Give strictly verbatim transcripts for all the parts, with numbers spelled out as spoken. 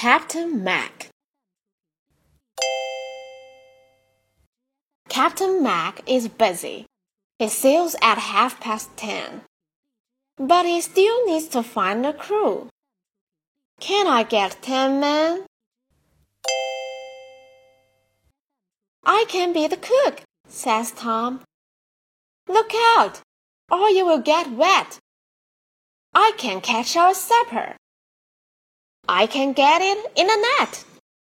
Captain Mac. Captain Mac is busy. He sails at half past ten. But he still needs to find a crew. Can I get ten men? I can be the cook, says Tom. Look out, or you will get wet. I can catch our supper. I can get it in a net.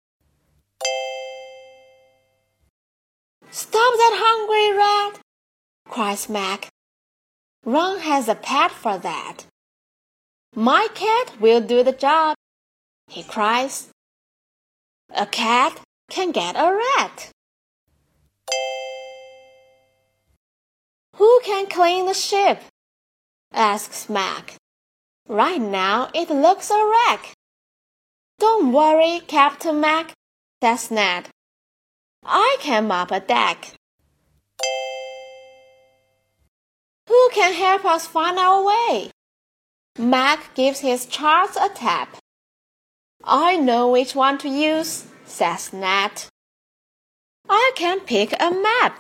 Stop that hungry rat, cries Mac. Ron has a pet for that. My cat will do the job, he cries. A cat can get a rat. Who can clean the ship? Asks Mac. Right now it looks a wreck. Don't worry, Captain Mac, says Ned. I can mop a deck. Who can help us find our way? Mac gives his charts a tap. I know which one to use, says Ned. I can pick a map.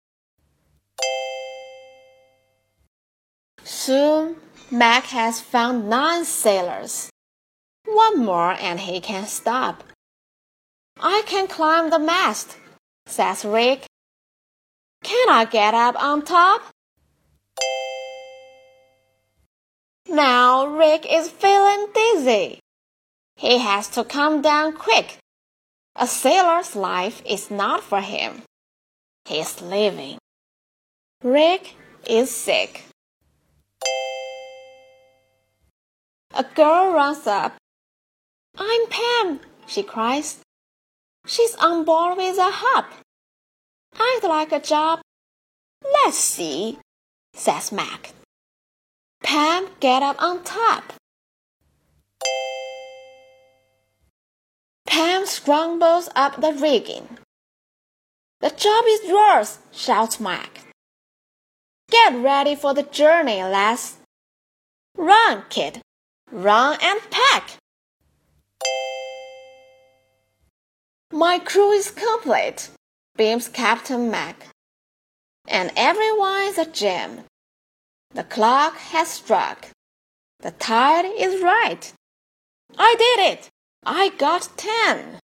Soon, Mac has found nine sailors. One more and he can stop. I can climb the mast, says Rick. Can I get up on top? Now Rick is feeling dizzy. He has to come down quick. A sailor's life is not for him. He's leaving. Rick is sick. A girl runs up. I'm Pam, she cries. She's on board with a hop. I'd like a job. Let's see, says Mac. Pam get up on top. Pam scrambles up the rigging. The job is yours, shouts Mac. Get ready for the journey, lass. Run, kid. Run and pack. My crew is complete, beams Captain Mac. And everyone's a gem. The clock has struck. The tide is right. I did it. I got ten.